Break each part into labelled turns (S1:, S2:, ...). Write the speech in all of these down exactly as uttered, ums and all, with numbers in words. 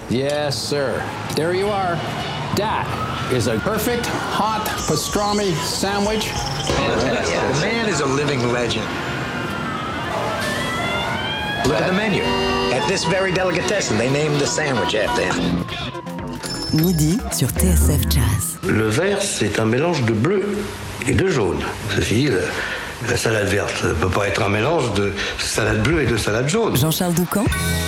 S1: Yes, sir. There you are. That is a perfect hot pastrami sandwich.
S2: Fantastic. Yeah, the man is a living legend. Look at the menu. At this very delicatessen, they named the sandwich after him.
S3: Midi sur T S F Jazz.
S4: Le vert, c'est un mélange de bleu et de jaune. Ceci dit, la, la salade verte ne peut pas être un mélange de salade bleue et de salade jaune.
S3: Jean-Charles Doucan.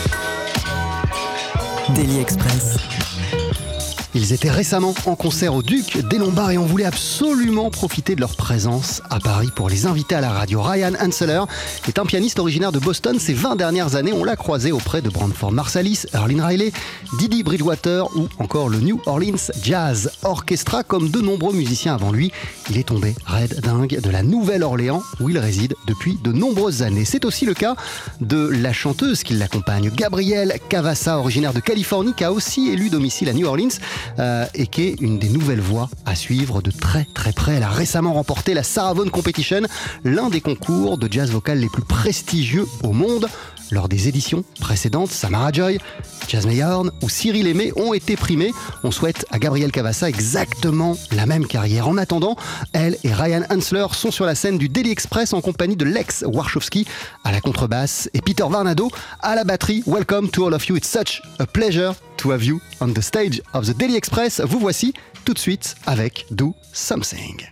S3: Daily Express.
S5: Ils étaient récemment en concert au Duc des Lombards et on voulait absolument profiter de leur présence à Paris pour les inviter à la radio. Ryan Hensler est un pianiste originaire de Boston. Ces vingt dernières années, on l'a croisé auprès de Branford Marsalis, Earlene Riley, Didi Bridgewater ou encore le New Orleans Jazz Orchestra. Comme de nombreux musiciens avant lui, il est tombé raide dingue de la Nouvelle-Orléans où il réside depuis de nombreuses années. C'est aussi le cas de la chanteuse qui l'accompagne, Gabrielle Cavassa, originaire de Californie, qui a aussi élu domicile à New Orleans. Euh, et qui est une des nouvelles voix à suivre de très très près. Elle a récemment remporté la Sarah Vaughan Competition, l'un des concours de jazz vocal les plus prestigieux au monde. Lors des éditions précédentes, Samara Joy, Jasmine Horn ou Cyril Aimé ont été primés. On souhaite à Gabrielle Cavassa exactement la même carrière. En attendant, elle et Ryan Hensler sont sur la scène du Daily Express en compagnie de Lex Warshawski à la contrebasse et Peter Varnado à la batterie. Welcome to all of you. It's such a pleasure to have you on the stage of the Daily Express. Vous voici tout de suite avec Do Something.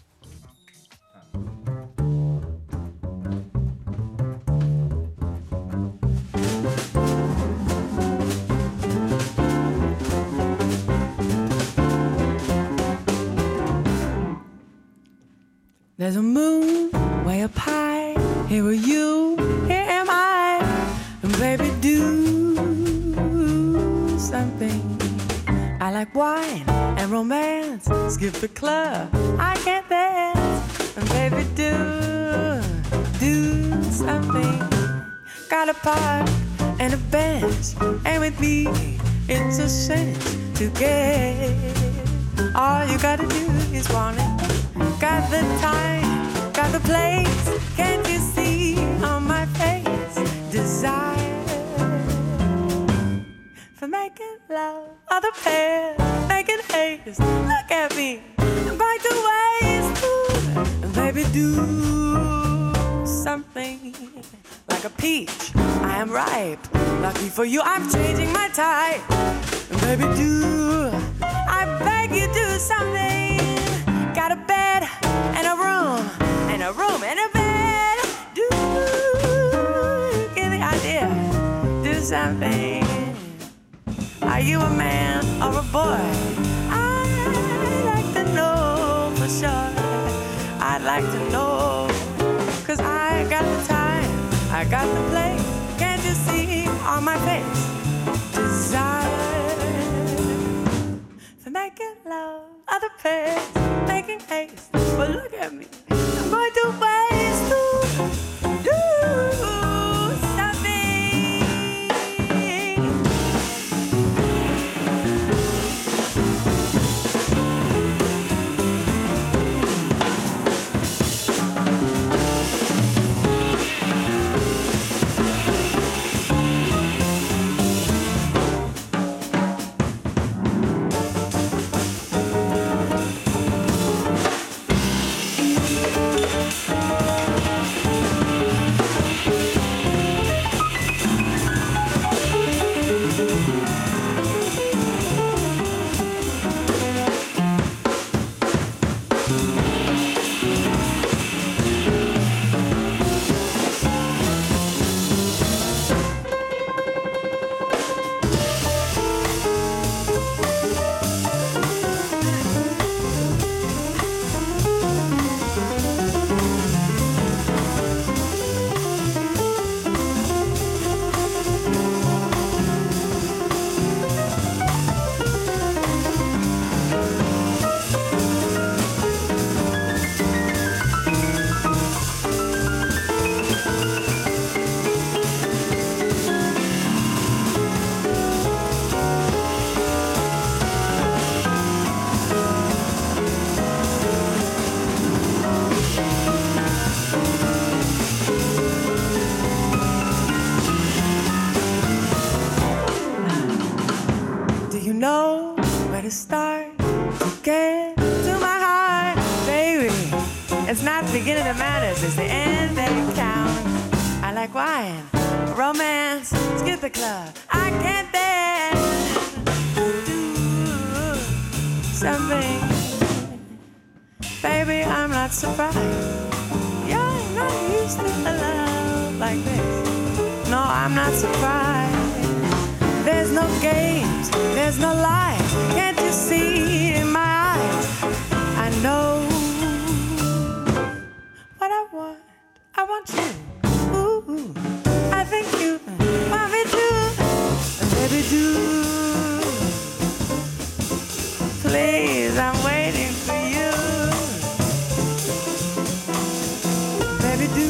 S6: There's a moon way up high. Here are you, here am I. And baby, do something. I like wine and romance. Skip the club, I can't dance. And baby, do, do something. Got a park and a bench. And with me, it's a cinch to get. All you gotta do is want it. Got the time, got the place. Can't you see on my face? Desire for making love. Other pair, making haste. Look at me, I'm going to waste. Ooh, baby, do something. Like a peach, I am ripe. Lucky for you, I'm changing my type. Baby, do, I beg you, do something. Got a bed and a room, and a room and a bed. Do, get the idea, do something. Are you a man or a boy? I'd like to know for sure. I'd like to know, cause I got the time, I got the place. Can't you see on my face? Desire for making love, other pairs, making haste. But look at me, I'm going to waste to do something. know where to start to get to my heart, baby. It's not the beginning that matters, it's the end that counts. I like wine, romance, skip the club. I can't dance, do something. Baby, I'm not surprised. You're not used to a love like this. No, I'm not surprised. There's no games, there's no lies. Can't you see in my eyes? I know what I want. I want you. Ooh, I think you want me too. Baby, do. Please, I'm waiting for you. Baby, do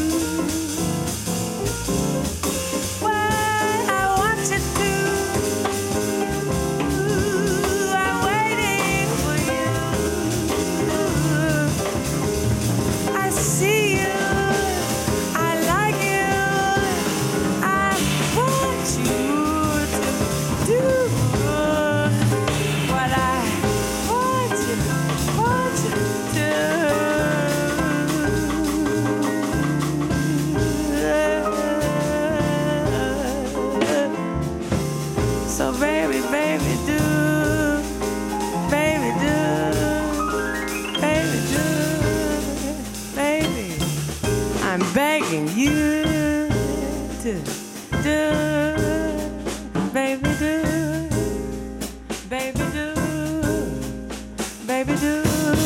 S6: what I want you to. I'm waiting for you. I see you. I like you. I want you to do what I want you, want you to. So baby, baby, do, baby, do, baby, do, baby. I'm begging you to do, baby, do, baby, do, baby, do.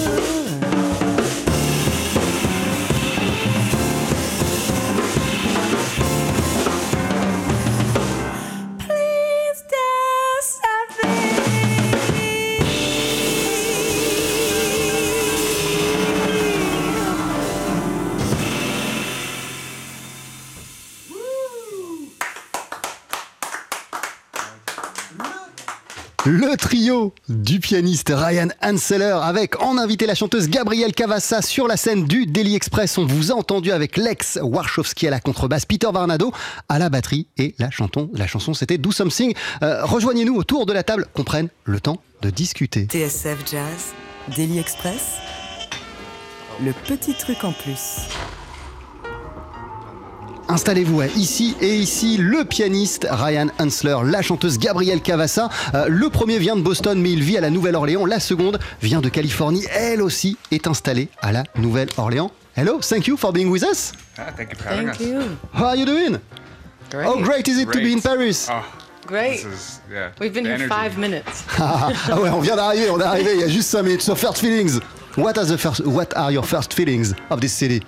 S6: Please do something.
S5: Le trio du pianiste Ryan Hanseler avec en invité la chanteuse Gabrielle Cavassa sur la scène du Daily Express. On vous a entendu avec Lex Warshawski à la contrebasse, Peter Varnado à la batterie et la, chanton, la chanson c'était Do Something. Euh, rejoignez-nous autour de la table, qu'on prenne le temps de discuter.
S3: T S F Jazz, Daily Express, le petit truc en plus.
S5: Installez-vous ouais, ici et ici, le pianiste Ryan Hanseler, la chanteuse Gabrielle Cavassa. Euh, le premier vient de Boston, mais il vit à la Nouvelle-Orléans. La seconde vient de Californie. Elle aussi est installée à la Nouvelle-Orléans. Hello, thank you for being with us.
S7: Ah, thank you for having
S6: Thank
S7: us.
S6: you.
S5: How are you doing?
S6: Great.
S5: How great is it to be in
S7: Great.
S5: Paris?
S7: Oh,
S6: Great.
S7: this is, yeah,
S6: We've been
S7: the
S6: here
S7: energy.
S6: five minutes.
S5: Ah ouais, on vient d'arriver, on est arrivé il y a juste cinq minutes. So first feelings. What are the first what are your first feelings of this city?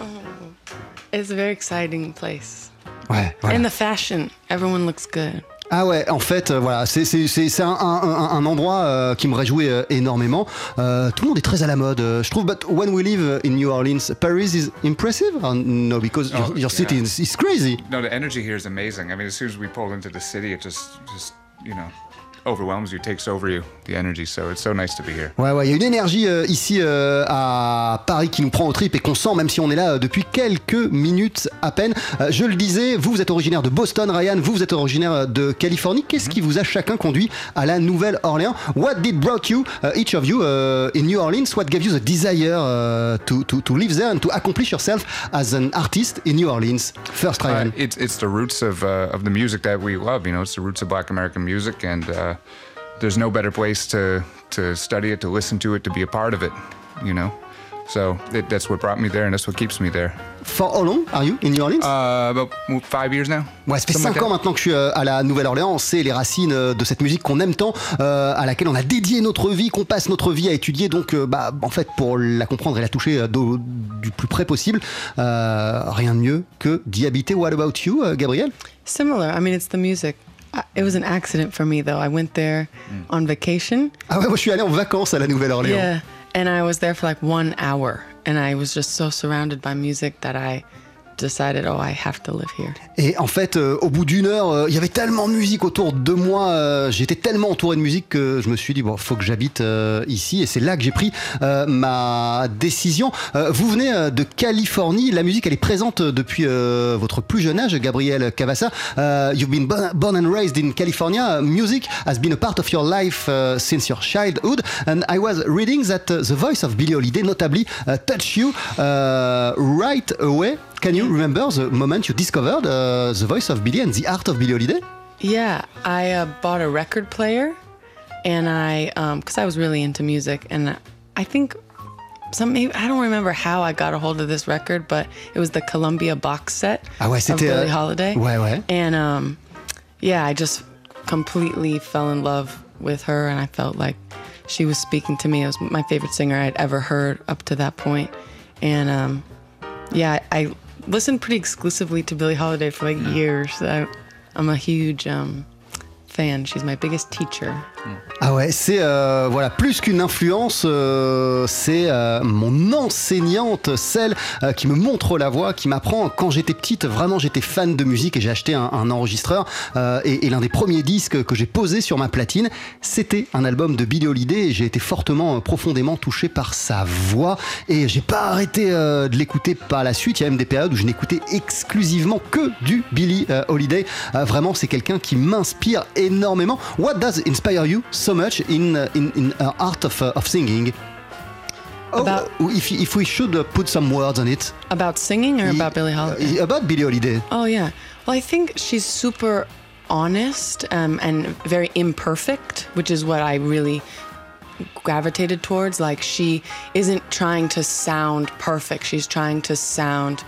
S6: It's a very exciting place.
S5: Ouais, voilà.
S6: And the fashion, everyone looks good.
S5: Ah ouais, en fait, euh, voilà, c'est, c'est, c'est, c'est un, un, un, un endroit euh, qui me réjouit euh, énormément. Euh, tout le monde est très à la mode, euh, je trouve. But when we live in New Orleans, Paris is impressive? Or no, because
S7: Oh,
S5: your, your city
S7: yeah.
S5: is, is crazy.
S7: No, the energy here is amazing. I mean, as soon as we pull into the city, it just, just you know, overwhelms you, takes over you, the energy. So it's so nice to be here.
S5: Ouais, ouais, il y a une énergie euh, ici euh, à Paris qui nous prend au trip et qu'on sent même si on est là euh, depuis quelques minutes à peine. Euh, je le disais, vous, vous êtes originaire de Boston, Ryan, vous, vous êtes originaire de Californie. Qu'est-ce mm-hmm. qui vous a chacun conduit à la Nouvelle-Orléans? What did brought you, uh, each of you, uh, in New Orleans? What gave you the desire uh, to, to, to live there and to accomplish yourself as an artist in New Orleans? First, Ryan.
S7: Uh, it's it's the roots of uh, of the music that we love. You know, it's the roots of Black American music, and uh, there's no better place to to study it, to listen to it, to be a part of it. You know, so it, that's what brought me there, and that's what keeps me there.
S5: For how long are you in New Orleans?
S7: Uh, about five years now.
S5: Ouais, ça fait
S7: Something
S5: cinq
S7: like
S5: ans
S7: that.
S5: maintenant que je suis euh, à la Nouvelle-Orléans. On sait les racines euh, de cette musique qu'on aime tant, euh, à laquelle on a dédié notre vie, qu'on passe notre vie à étudier. Donc, euh, bah, en fait, pour la comprendre et la toucher euh, do- du plus près possible, euh, rien de mieux que d'y habiter. What about you, euh, Gabrielle?
S6: Similar. I mean, it's the music. I, it was an accident for me, though. I went there on vacation.
S5: Ah ouais, moi je suis allé en vacances à la Nouvelle-Orléans.
S6: Yeah. And I was there for like one hour. And I was just so surrounded by music that I
S8: decided, oh, I have to live here.
S5: Et en fait, euh, au bout d'une heure, euh, il y avait tellement de musique autour de moi, euh, j'étais tellement entouré de musique que je me suis dit, bon, faut que j'habite euh, ici. Et c'est là que j'ai pris euh, ma décision. Euh, vous venez euh, de Californie, la musique, elle est présente depuis euh, votre plus jeune âge, Gabriel Cavassa. Uh, you've been born, born and raised in California. Music has been a part of your life uh, since your childhood. And I was reading that uh, the voice of Billie Holiday notably uh, touched you uh, right away. Can you remember the moment you discovered uh, the voice of Billie and the art of Billie Holiday?
S8: Yeah, I uh, bought a record player, and I, because um, I was really into music, and I think some, maybe, I don't remember how I got a hold of this record, but it was the Columbia box set
S5: ah ouais,
S8: of Billie
S5: euh...
S8: Holiday.
S5: Ouais, ouais.
S8: And um, yeah, I just completely fell in love with her, and I felt like she was speaking to me. It was my favorite singer I'd ever heard up to that point. And um, yeah, I, I listened pretty exclusively to Billie Holiday for like years. I, I'm a huge um, fan. She's my biggest teacher.
S5: Ah ouais, c'est euh, voilà, plus qu'une influence, euh, c'est euh, mon enseignante, celle euh, qui me montre la voie, qui m'apprend. Quand j'étais petite, vraiment j'étais fan de musique et j'ai acheté un, un enregistreur euh, et, et l'un des premiers disques que j'ai posé sur ma platine, c'était un album de Billie Holiday et j'ai été fortement, profondément touché par sa voix et j'ai pas arrêté euh, de l'écouter par la suite. Il y a même des périodes où je n'écoutais exclusivement que du Billie euh, Holiday. Euh, vraiment, c'est quelqu'un qui m'inspire énormément. What does inspire you so much in uh, in in uh, art of uh, of singing? Oh,
S8: about,
S5: uh, if if we should uh, put some words on it.
S8: About singing or
S5: y-
S8: about Billie Holiday?
S5: Uh, about Billie Holiday.
S8: Oh yeah. Well, I think she's super honest um, and very imperfect, which is what I really gravitated towards. Like, she isn't trying to sound perfect. She's trying to sound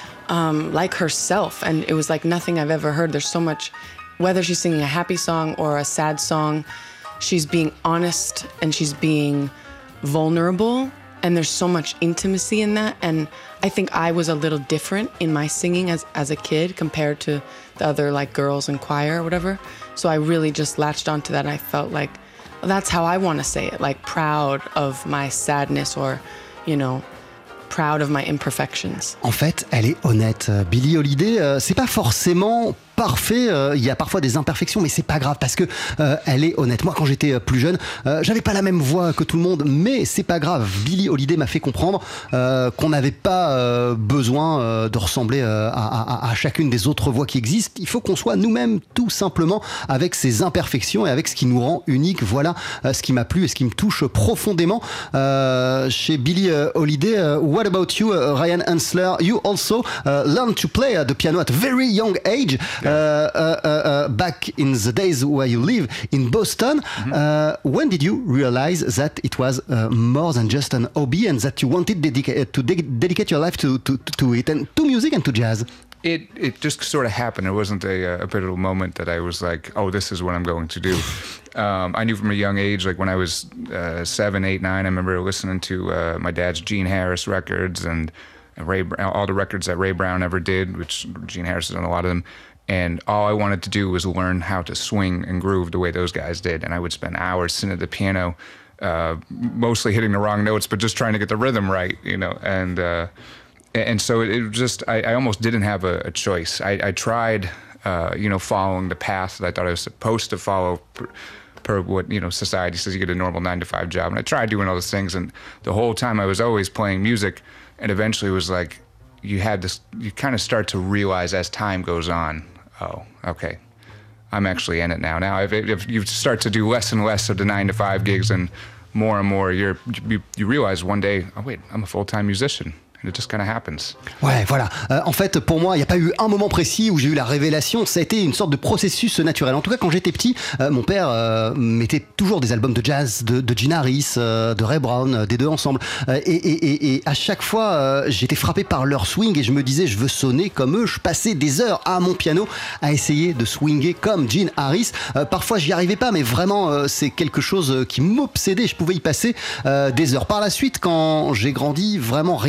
S8: um, like herself, and it was like nothing I've ever heard. There's so much. Whether she's singing a happy song or a sad song, she's being honest and she's being vulnerable, and there's so much intimacy in that. And I think I was a little different in my singing as, as a kid compared to the other like girls in choir or whatever. So I really just latched onto that, and I felt like, well, that's how I want to say it, like proud of my sadness, or, you know, proud of my imperfections.
S5: En fait, elle est honnête. Billie Holiday, euh, c'est pas forcément parfait, euh, il y a parfois des imperfections, mais c'est pas grave parce que euh, elle est honnête. Moi, quand j'étais plus jeune, euh, j'avais pas la même voix que tout le monde, mais c'est pas grave. Billie Holiday m'a fait comprendre euh, qu'on n'avait pas euh, besoin euh, de ressembler euh, à, à, à chacune des autres voix qui existent. Il faut qu'on soit nous-mêmes, tout simplement, avec ses imperfections et avec ce qui nous rend unique. Voilà euh, ce qui m'a plu et ce qui me touche profondément euh, chez Billie Holiday. Uh, what about you, uh, Ryan Hensler? You also uh, learned to play uh, the piano at a very young age. Uh, uh, uh, uh, back in the days where you live in Boston, mm-hmm. uh, when did you realize that it was uh, more than just an hobby and that you wanted dedica- to de- dedicate your life to, to, to it and to music and to jazz?
S7: It it just sort of happened. It wasn't a, a pivotal moment that I was like, oh, this is what I'm going to do. Um, I knew from a young age, like when I was uh, seven, eight, nine, I remember listening to uh, my dad's Gene Harris records and Ray, all the records that Ray Brown ever did, which Gene Harris has done a lot of them. And all I wanted to do was learn how to swing and groove the way those guys did. And I would spend hours sitting at the piano, uh, mostly hitting the wrong notes, but just trying to get the rhythm right, you know. And uh, and so it, it just, I, I almost didn't have a, a choice. I, I tried, uh, you know, following the path that I thought I was supposed to follow per, per what, you know, society says you get a normal nine to five job. And I tried doing all those things. And the whole time I was always playing music. And eventually it was like, you had this, you kind of start to realize as time goes on, oh, okay, I'm actually in it now. Now, if, if you start to do less and less of the nine to five gigs and more and more, you're, you, you realize one day, oh wait, I'm a full-time musician. It just kind of happens.
S5: Ouais, voilà. Euh, en fait, pour moi, il n'y a pas eu un moment précis où j'ai eu la révélation. Ça a été une sorte de processus naturel. En tout cas, quand j'étais petit, euh, mon père euh, mettait toujours des albums de jazz de, de Gene Harris, euh, de Ray Brown, euh, des deux ensemble. Euh, et, et, et, et à chaque fois, euh, j'étais frappé par leur swing et je me disais, je veux sonner comme eux. Je passais des heures à mon piano à essayer de swinger comme Gene Harris. Euh, parfois, j'y arrivais pas, mais vraiment, euh, c'est quelque chose qui m'obsédait. Je pouvais y passer euh, des heures. Par la suite, quand j'ai grandi, vraiment, rien ne me rendait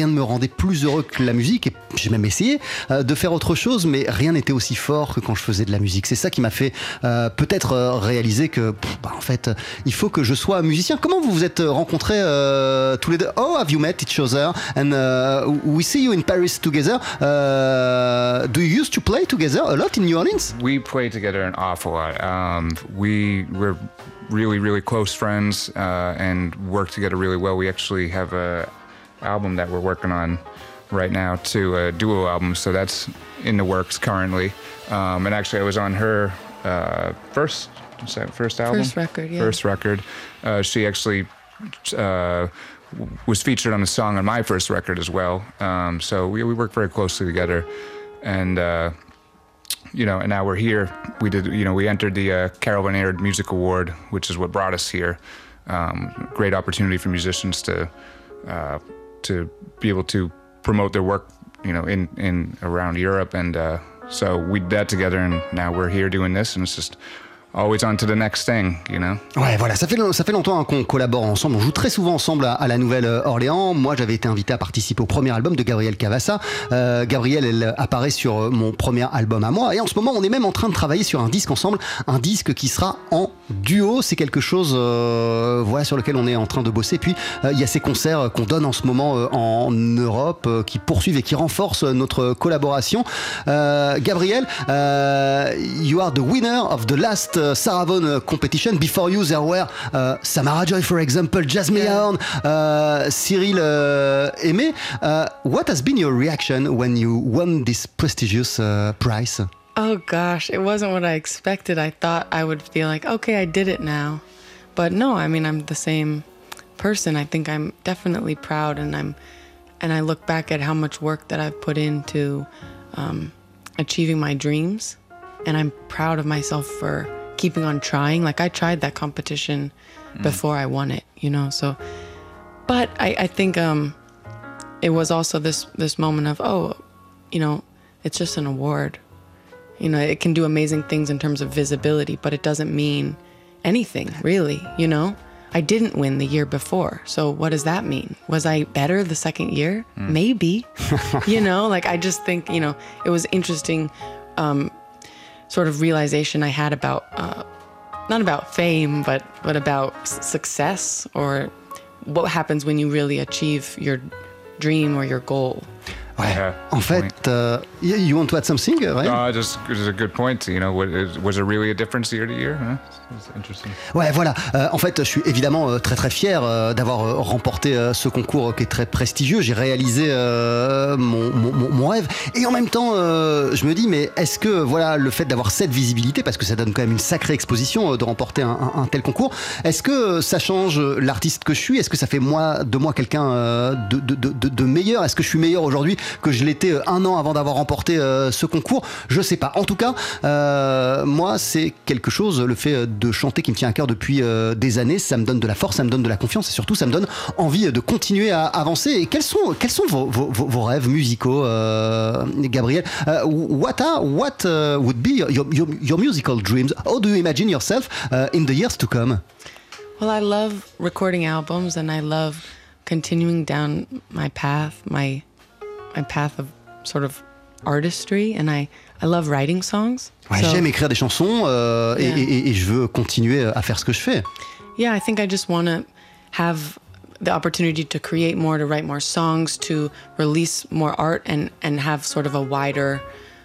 S5: rendait plus heureux que la musique, et j'ai même essayé euh, de faire autre chose, mais rien n'était aussi fort que quand je faisais de la musique. C'est ça qui m'a fait euh, peut-être euh, réaliser que, pff, bah, en fait, euh, il faut que je sois musicien. Comment vous vous êtes rencontrés euh, tous les deux? Oh, have you met each other? And uh, we see you in Paris together. Uh, do you used to play together a lot in New Orleans?
S7: We play together an awful lot. Um, we we're really really close friends uh, and work together really well. We actually have a album that we're working on right now too, a duo album. So that's in the works currently. Um, and actually, I was on her uh, first is that first album,
S8: First record, yeah.
S7: First record. Uh, she actually uh, was featured on a song on my first record as well. Um, so we we work very closely together, and. Uh, You know, and now we're here. We did, you know, we entered the uh, Carol Van Aird Music Award, which is what brought us here. Um, great opportunity for musicians to uh, to be able to promote their work, you know, in, in around Europe. And uh, so we did that together, and now we're here doing this, and it's just always on to the next thing, you know.
S5: Ouais, voilà, ça fait, ça fait longtemps hein, qu'on collabore ensemble. On joue très souvent ensemble à, à la Nouvelle-Orléans. Moi, j'avais été invité à participer au premier album de Gabrielle Cavassa. Euh, Gabrielle, elle apparaît sur mon premier album à moi. Et en ce moment, on est même en train de travailler sur un disque ensemble. Un disque qui sera en duo. C'est quelque chose euh, voilà, sur lequel on est en train de bosser. Puis, euh, il y a ces concerts qu'on donne en ce moment euh, en Europe euh, qui poursuivent et qui renforcent notre collaboration. Euh, Gabrielle, uh, you are the winner of the last Uh, Sarah Vaughan uh, competition. Before you, there were uh, Samara Joy, for example, Jasmine Horn, uh, Cyril uh, Aimé. Uh, what has been your reaction when you won this prestigious uh, prize?
S8: Oh gosh, it wasn't what I expected. I thought I would feel like, okay, I did it now. But no, I mean, I'm the same person. I think I'm definitely proud, and I'm, and I look back at how much work that I've put into um, achieving my dreams, and I'm proud of myself for keeping on trying. Like I tried that competition mm. before I won it, you know, so, but I, I think um, it was also this, this moment of, oh, you know, it's just an award. You know, it can do amazing things in terms of visibility, but it doesn't mean anything really, you know? I didn't win the year before, so what does that mean? Was I better the second year? Mm. Maybe, you know, like I just think, you know, it was interesting um, sort of realization I had about, uh, not about fame, but, but about s- success or what happens when you really achieve your dream or your goal.
S5: Ouais.
S7: Yeah,
S5: en fait, uh, you want to add something, right?
S7: Uh, just it's a good point. You know, what, was there really a difference year to year? Huh? It's interesting.
S5: Ouais, voilà. Euh, en fait, je suis évidemment euh, très très fier euh, d'avoir euh, remporté euh, ce concours euh, qui est très prestigieux. J'ai réalisé euh, mon, mon, mon rêve. Et en même temps, euh, je me dis, mais est-ce que voilà le fait d'avoir cette visibilité, parce que ça donne quand même une sacrée exposition euh, de remporter un, un, un tel concours, est-ce que ça change l'artiste que je suis? Est-ce que ça fait moi, de moi quelqu'un euh, de, de, de, de meilleur? Est-ce que je suis meilleur aujourd'hui que je l'étais un an avant d'avoir remporté euh, ce concours? Je sais pas. En tout cas, euh, moi, c'est quelque chose, le fait de chanter qui me tient à cœur depuis euh, des années. Ça me donne de la force, ça me donne de la confiance et surtout, ça me donne envie de continuer à avancer. Et quels sont, quels sont vos, vos, vos rêves musicaux, euh, Gabrielle? uh, What are, what uh, would be your, your, your musical dreams? How do you imagine yourself uh, in the years to come?
S8: Well, I love recording albums, and I love continuing down my path, my my path of sort of artistry, and I, I love writing songs.
S5: Ouais,
S8: so,
S5: j'aime écrire des chansons euh,
S8: yeah.
S5: et, et, et je veux continuer à faire ce que je fais.
S8: Yeah, I think I just want to have the opportunity to create more, to write more songs, to release more art, and, and have sort of a wider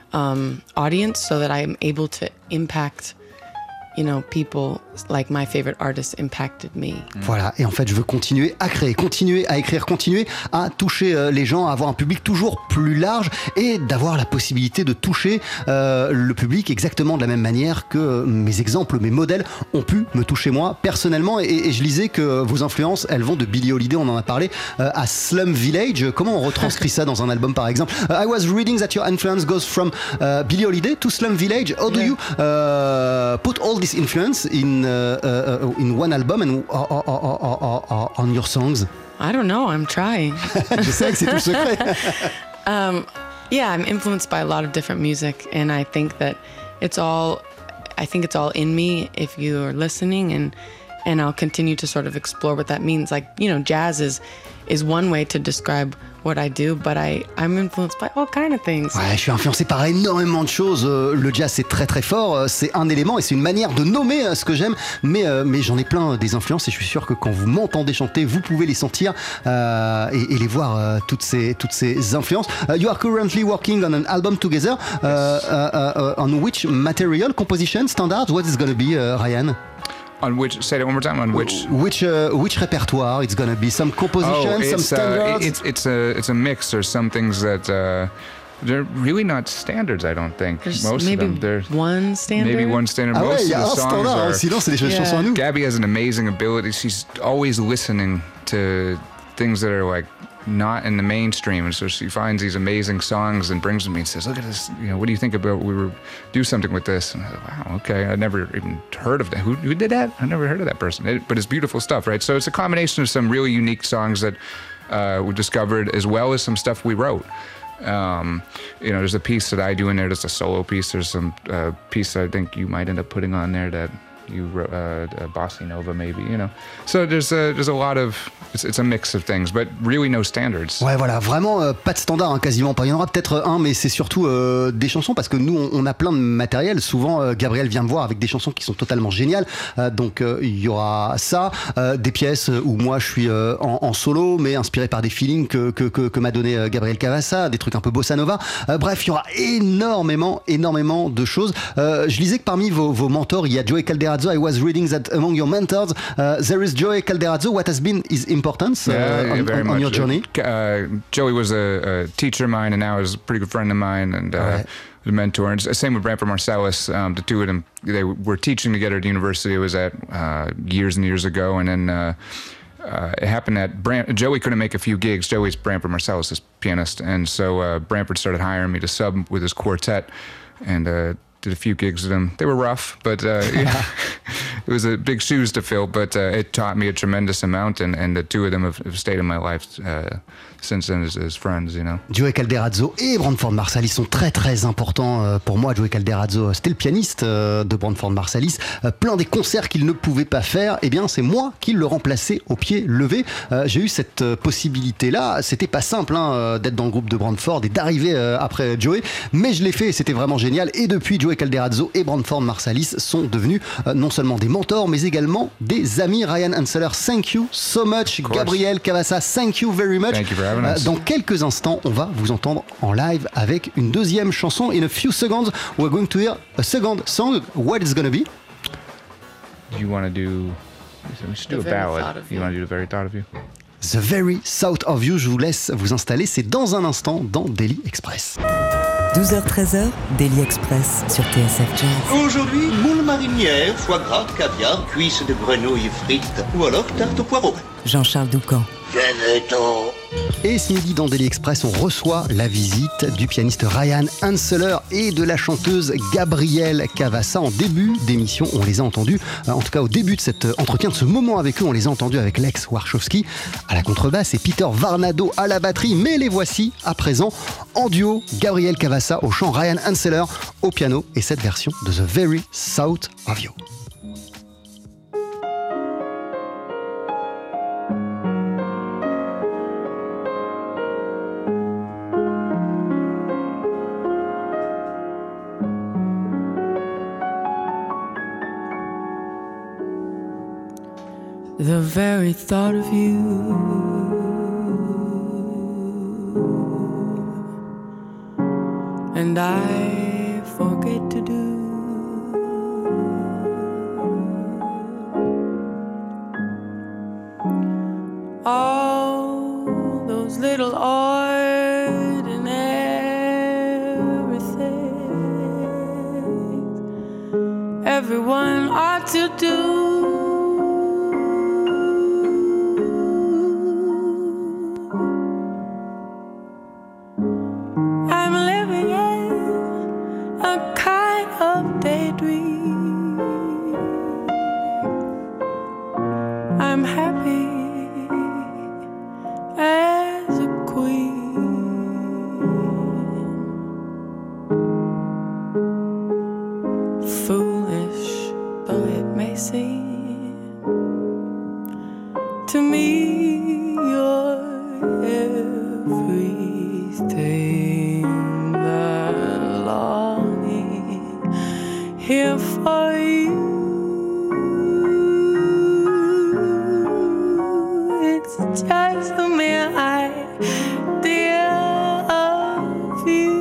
S8: um, audience so that I'm able to impact, you know, people like my favorite artists impacted me.
S5: Voilà, et en fait, je veux continuer à créer, continuer à écrire, continuer à toucher euh, les gens, à avoir un public toujours plus large et d'avoir la possibilité de toucher euh, le public exactement de la même manière que euh, mes exemples, mes modèles ont pu me toucher moi personnellement. Et, et je lisais que vos influences, elles vont de Billie Holiday, on en a parlé, euh, à Slum Village. Comment on retranscrit ça dans un album, par exemple? uh, I was reading that your influence goes from uh, Billie Holiday to Slum Village. How do yeah. you uh, put all this influence in uh, uh, in one album and uh, uh, uh, uh, uh, on your songs?
S8: I don't know, I'm trying.
S5: Je sais que c'est tout le secret.
S8: um, yeah, I'm influenced by a lot of different music, and I think that it's all, I think it's all in me if you're listening, and and I'll continue to sort of explore what that means. Like, you know, jazz is is one way to describe what I do, but I, I'm influenced by all kind of things.
S5: Ouais, je suis influencé par énormément de choses. Euh, le jazz, c'est très très fort. Euh, c'est un élément et c'est une manière de nommer euh, ce que j'aime. Mais, euh, mais j'en ai plein euh, des influences et je suis sûr que quand vous m'entendez chanter, vous pouvez les sentir euh, et, et les voir, euh, toutes, ces, toutes ces influences. Uh, you are currently working on an album together. Uh, uh, uh, on which material, composition, standards? What is going to be, uh, Ryan?
S7: On which? Say that one more time. On which?
S5: Which uh, which repertoire? It's gonna be some composition,
S7: oh,
S5: some
S7: it's,
S5: standards.
S7: Uh, it's it's a it's a mix. There's some things that uh, they're really not standards. I don't think
S8: There's
S7: most
S8: maybe
S7: of them. There's
S8: one standard.
S7: maybe one standard.
S5: Ah
S7: most
S5: ouais, il y a
S7: of
S5: un
S7: the songs
S5: standard.
S7: are.
S5: Sinon, c'est des
S8: Yeah.
S5: chansons à nous.
S7: Gabby has an amazing ability. She's always listening to things that are like not in the mainstream, and so she finds these amazing songs and brings them to me and says, "Look at this. You know, what do you think about we were do something with this?" And I thought, wow, okay. I never even heard of that. Who, who did that? I never heard of that person. It, but it's beautiful stuff, right? So it's a combination of some really unique songs that uh, we discovered, as well as some stuff we wrote. Um, you know, there's a piece that I do in there that's a solo piece. There's some uh, piece that I think you might end up putting on there that you wrote, uh, uh, Bossa Nova maybe, you know. So there's a, there's a lot of, it's, it's a mix of things, but really no standards.
S5: Ouais, voilà, vraiment euh, pas de standard, hein, quasiment pas. Il y en aura peut-être un, mais c'est surtout euh, des chansons parce que nous, on, on a plein de matériel. Souvent, euh, Gabriel vient me voir avec des chansons qui sont totalement géniales. Euh, donc, euh, il y aura ça, euh, des pièces où moi je suis euh, en, en solo, mais inspiré par des feelings que, que, que, que m'a donné euh, Gabriel Cavassa, des trucs un peu bossa nova. Euh, bref, il y aura énormément, énormément de choses. Euh, je lisais que parmi vos, vos mentors, il y a Joey Calderazzo. I was reading that among your mentors, uh, there is Joey Calderazzo. What has been his importance uh,
S7: Yeah, yeah,
S5: on,
S7: very
S5: on,
S7: much.
S5: on your journey?
S7: Uh, Joey was a, a teacher of mine, and now is a pretty good friend of mine, and uh,
S5: Right.
S7: a mentor. And same with Branford Marsalis. Um, the two of them, they were teaching together at the university I was at uh, years and years ago, and then uh, uh, it happened that Bram- Joey couldn't make a few gigs. Joey's Branford Marsalis, this pianist, and so uh, Branford started hiring me to sub with his quartet, and uh, did a few gigs with him. They were rough, but uh, yeah, it was a big shoes to fill, but uh, it taught me a tremendous amount, and, and the two of them have, have stayed in my life uh, since then as, as friends, you know.
S5: Joey Calderazzo et Branford Marsalis sont très très importants euh, pour moi. Joey Calderazzo, c'était le pianiste euh, de Branford Marsalis. Euh, plein des concerts qu'il ne pouvait pas faire, eh bien c'est moi qui le remplaçais au pied levé. Euh, j'ai eu cette euh, possibilité-là. C'était pas simple hein, euh, d'être dans le groupe de Branford et d'arriver euh, après Joey, mais je l'ai fait et c'était vraiment génial. Et depuis, Joey Calderazzo et Branford Marsalis sont devenus euh, non seulement des mentors, mais également des amis. Ryan Hanseler, thank you so much. Gabriel Cavassa, thank you very much.
S7: Thank you for having us.
S5: Euh, dans quelques instants, on va vous entendre en live avec une deuxième chanson. In a few seconds, we're going to hear a second song. What it's gonna be?
S7: Do you want to do, we should do
S8: The
S7: a
S8: Very
S7: ballad.
S8: Thought of
S7: You
S8: You.
S7: want to do The Very Thought of You?
S5: The Very South of You. Je vous laisse vous installer. C'est dans un instant dans Daily Express.
S3: douze heures treize, Daily Express sur T S F Jazz.
S9: Aujourd'hui, moule marinière, foie gras, caviar, cuisses de grenouille frites ou alors tarte au poireau.
S3: Jean-Charles Doucan.
S9: Venez-t'en.
S5: Et ce midi dans Daily Express, on reçoit la visite du pianiste Ryan Hanseler et de la chanteuse Gabrielle Cavassa. En début d'émission, on les a entendus, euh, en tout cas au début de cet entretien, de ce moment avec eux, on les a entendus avec Lex Warshawski à la contrebasse et Peter Varnado à la batterie. Mais les voici à présent en duo, Gabrielle Cavassa au chant, Ryan Hanseler au piano et cette version de The Very South of You.
S6: The very thought of you and I forget to do all those little ordinary things everyone ought to do. I'm living in a kind of daydream. I'm happy as a queen. Foolish though it may seem, to me you're everything, the longing here for you. It's just the mere idea of you.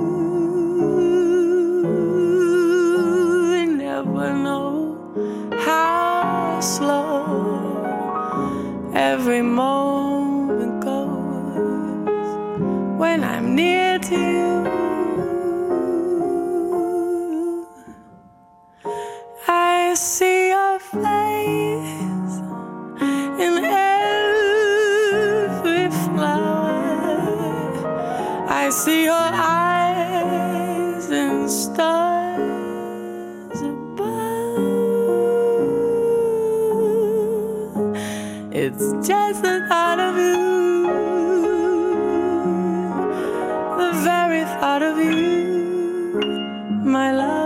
S6: I never know how slow every moment goes when I'm near to you. I see your face in every flower. I see your eyes and stars above. It's just the thought of you, the very thought of you, my love.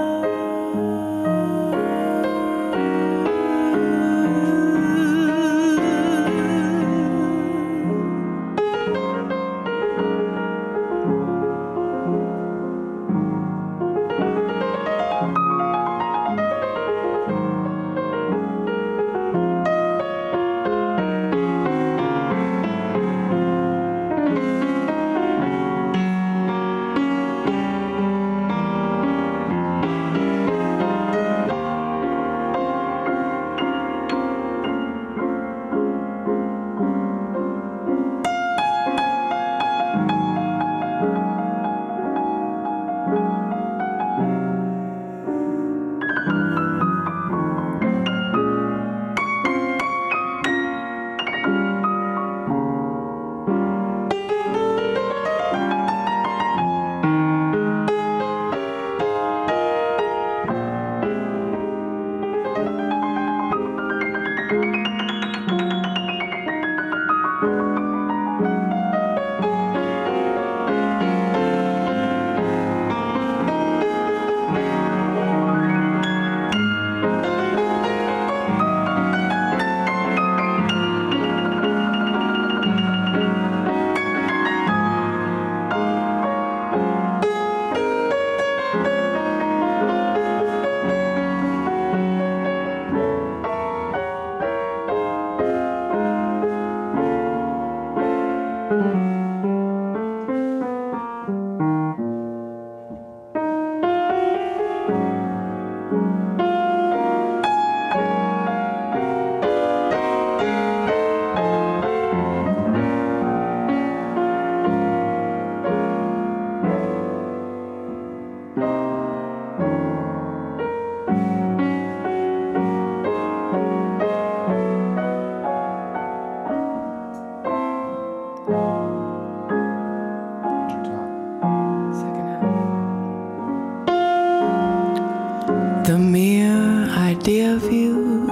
S6: The mere idea of you,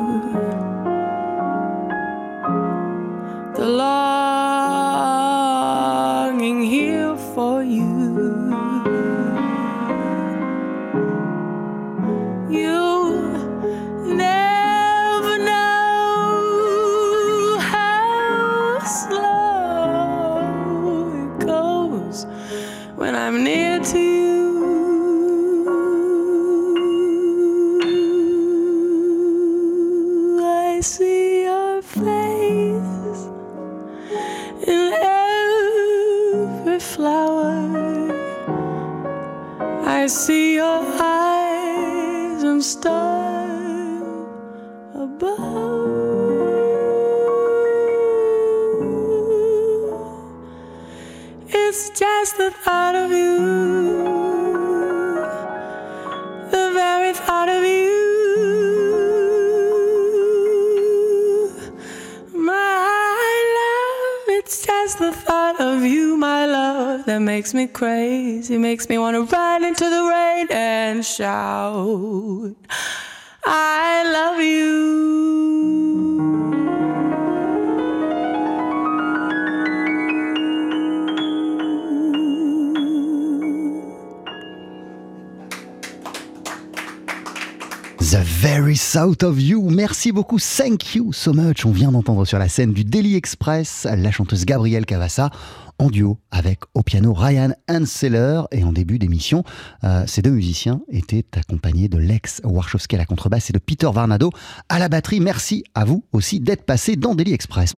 S6: the longing here for you. You never know how slow it goes when I'm near to you. I see your face in every flower. I see your eyes and stars above. It's just the thought of you, the very thought of you. The thought of you, my love, that makes me crazy, makes me want to run into the rain and shout, I love you.
S5: The Very South of You. Merci beaucoup, thank you so much. On vient d'entendre sur la scène du Daily Express la chanteuse Gabrielle Cavassa en duo avec au piano Ryan Hanseler. Et en début d'émission, euh, ces deux musiciens étaient accompagnés de Lex Warshawski à la contrebasse et de Peter Varnado à la batterie. Merci à vous aussi d'être passé dans Daily Express.